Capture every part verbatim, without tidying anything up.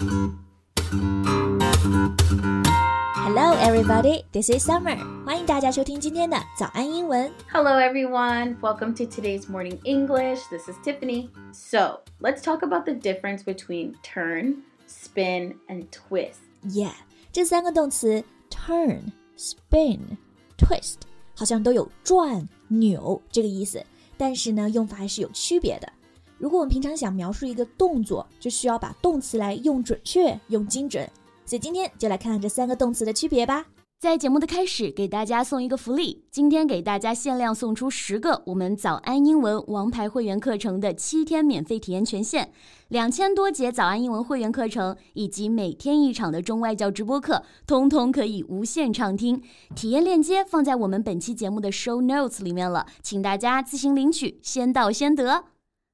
Hello everybody, this is Summer. 欢迎大家收听今天的早安英文。 Hello everyone, welcome to today's morning English. This is Tiffany. So, let's talk about the difference between turn, spin, and twist. Yeah, 这三个动词 turn, spin, twist 好像都有转、扭这个意思，但是呢，用法还是有区别的。如果我们平常想描述一个动作，就需要把动词来用准确、用精准。所以今天就来看看这三个动词的区别吧。 在节目的开始，给大家送一个福利，今天给大家限量送出十个我们早安英文王牌会员课程的七天免费体验权限，两千多节早安英文会员课程以及每天一场的中外教直播课，通通可以无限畅听。体验链接放在我们本期节目的 show notes 里面了，请大家自行领取，先到先得。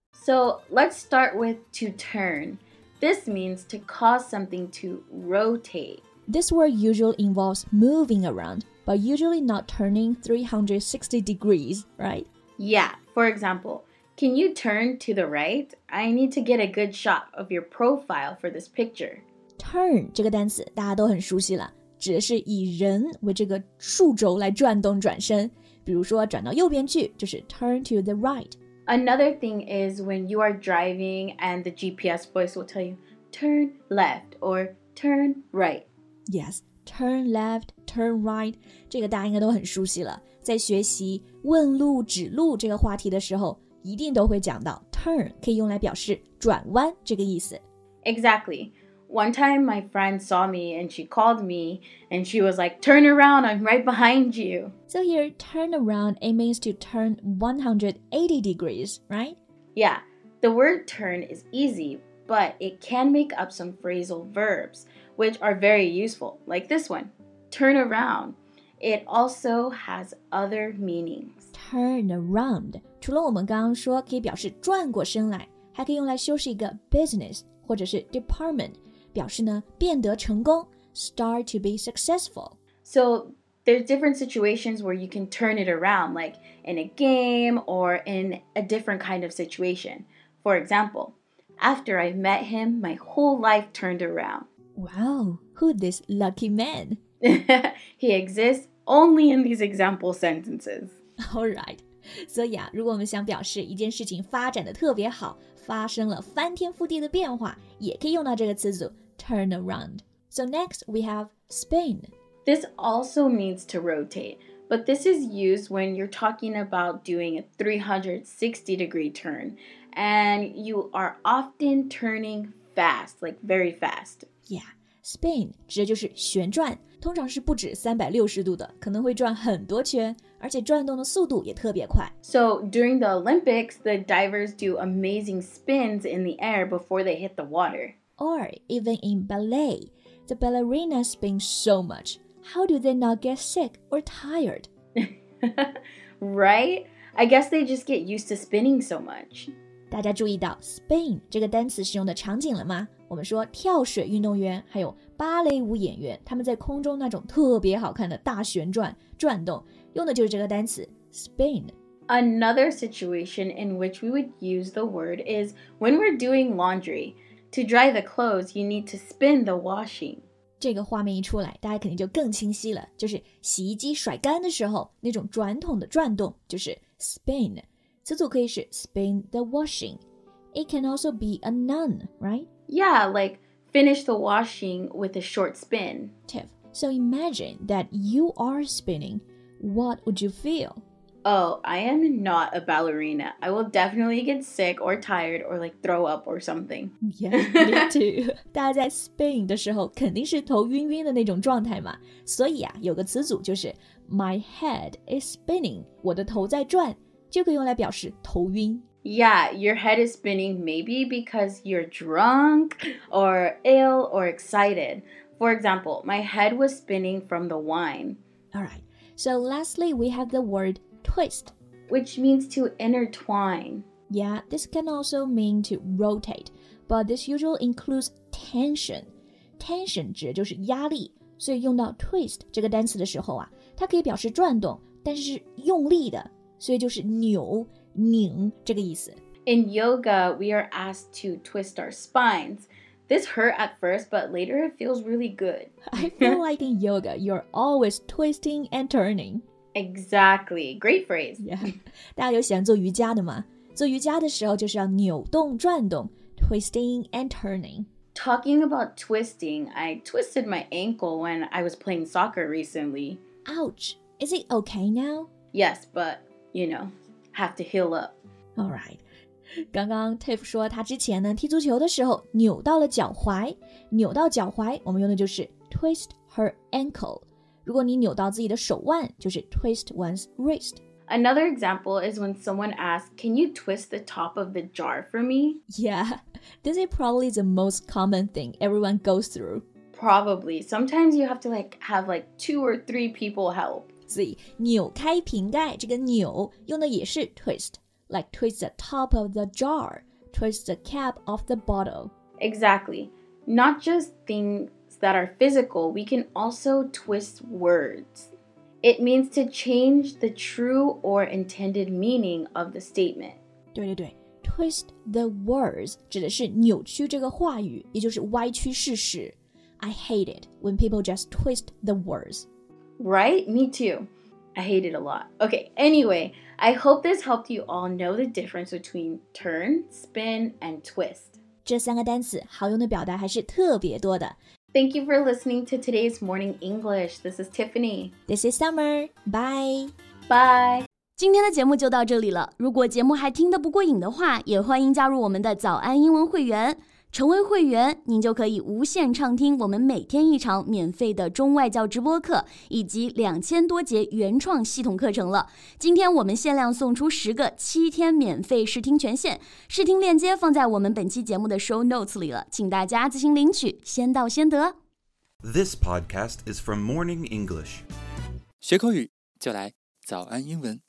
So let's start with to turn.This means to cause something to rotate. This word usually involves moving around, but usually not turning three hundred sixty degrees, right? Yeah, for example, can you turn to the right? I need to get a good shot of your profile for this picture. Turn 这个单词大家都很熟悉了，指的是以人为这个数轴来转动转身，比如说转到右边去，就是 turn to the right.Another thing is when you are driving and the G P S voice will tell you, turn left or turn right. Yes, turn left, turn right. 这个大家应该都很熟悉了。在学习问路、指路这个话题的时候，一定都会讲到 turn 可以用来表示转弯这个意思。 Exactly.One time my friend saw me and she called me and she was like, turn around, I'm right behind you. So here, turn around, it means to turn one hundred eighty degrees, right? Yeah, the word turn is easy, but it can make up some phrasal verbs, which are very useful, like this one, turn around. It also has other meanings. Turn around, 除了我们刚刚说可以表示转过身来，还可以用来修饰一个 business 或者是 department.表示呢变得成功 start to be successful. So there's different situations where you can turn it around, like in a game or in a different kind of situation. For example, after I met him, my whole life turned around. Wow, who this lucky man? He exists only in these example sentences. Alright. 所以啊，如果我们想表示一件事情发展的特别好，发生了翻天覆地的变化，也可以用到这个词组 turn around. So next we have spin. This also means to rotate, but this is used when you're talking about doing a three hundred sixty degree turn, and you are often turning fast, like very fast. Yeah, spin 指的就是旋转，通常是不止三百六十度的，可能会转很多圈，而且转动的速度也特别快。 So during the Olympics, the divers do amazing spins in the air before they hit the water. Or even in ballet, the ballerinas spin so much. How do they not get sick or tired? Right? I guess they just get used to spinning so much. 大家注意到 spin 这个单词使用的场景了吗？我们说跳水运动员还有芭蕾舞演员，他们在空中那种特别好看的大旋转转动，用的就是这个单词 spin. Another situation in which we would use the word is when we're doing laundry.To dry the clothes, you need to spin the washing. 这个画面一出来，大家肯定就更清晰了，就是洗衣机甩干的时候，那种转筒的转动就是 spin. 词组可以是 spin the washing. It can also be a noun, right? Yeah, like finish the washing with a short spin. Tiff, so imagine that you are spinning. What would you feel?Oh, I am not a ballerina. I will definitely get sick or tired or like throw up or something. Yeah, me too. 大家在 spin 的时候肯定是头晕晕的那种状态嘛，所以啊，有个词组就是 my head is spinning. 我的头在转，就可以用来表示头晕。 Yeah, your head is spinning maybe because you're drunk or ill or excited. For example, my head was spinning from the wine. Alright, so lastly we have the word twist, which means to intertwine. Yeah, this can also mean to rotate, but this usually includes tension. Tension 指的就是压力，所以用到 twist 这个单词的时候啊，它可以表示转动，但是是用力的，所以就是扭、拧这个意思。 In yoga, we are asked to twist our spines. This hurt at first, but later it feels really good. I feel like in yoga, you're always twisting and turning. Exactly. Great phrase. Yeah. 大家有喜欢做瑜伽的吗？做瑜伽的时候就是要扭动转动 twisting and turning. Talking about twisting, I twisted my ankle when I was playing soccer recently. Ouch. Is it okay now? Yes, but, you know, have to heal up. All right. 刚刚 Tiff 说他之前呢踢足球的时候扭到了脚踝，扭到脚踝我们用的就是 twist her ankle。如果你扭到自己的手腕，就是 twist one's wrist。 Another example is when someone asks, "Can you twist the top of the jar for me?" Yeah, this is probably the most common thing everyone goes through. Probably. Sometimes you have to like have like two or three people help. 所以扭开瓶盖这个扭用的也是 twist。Like twist the top of the jar, twist the cap of the bottle. Exactly. Not just things that are physical, we can also twist words. It means to change the true or intended meaning of the statement. 对对对 twist the words 指的是扭曲这个话语，也就是歪曲事实。I hate it when people just twist the words. Right? Me too. I hate it a lot. Okay, anyway, I hope this helped you all know the difference between turn, spin, and twist. 这三个单词好用的表达还是特别多的。 Thank you for listening to today's Morning English. This is Tiffany. This is Summer. Bye. Bye. 今天的节目就到这里了。如果节目还听得不过瘾的话，也欢迎加入我们的早安英文会员。成为会员，您就可以无限畅听我们每天一场免费的中外教直播课，以及两千多节原创系统课程了。今天我们限量送出十个七天免费试听权限，试听链接放在我们本期节目的 show notes 里了，请大家自行领取，先到先得。 This podcast is from Morning English. 学口语就来早安英文。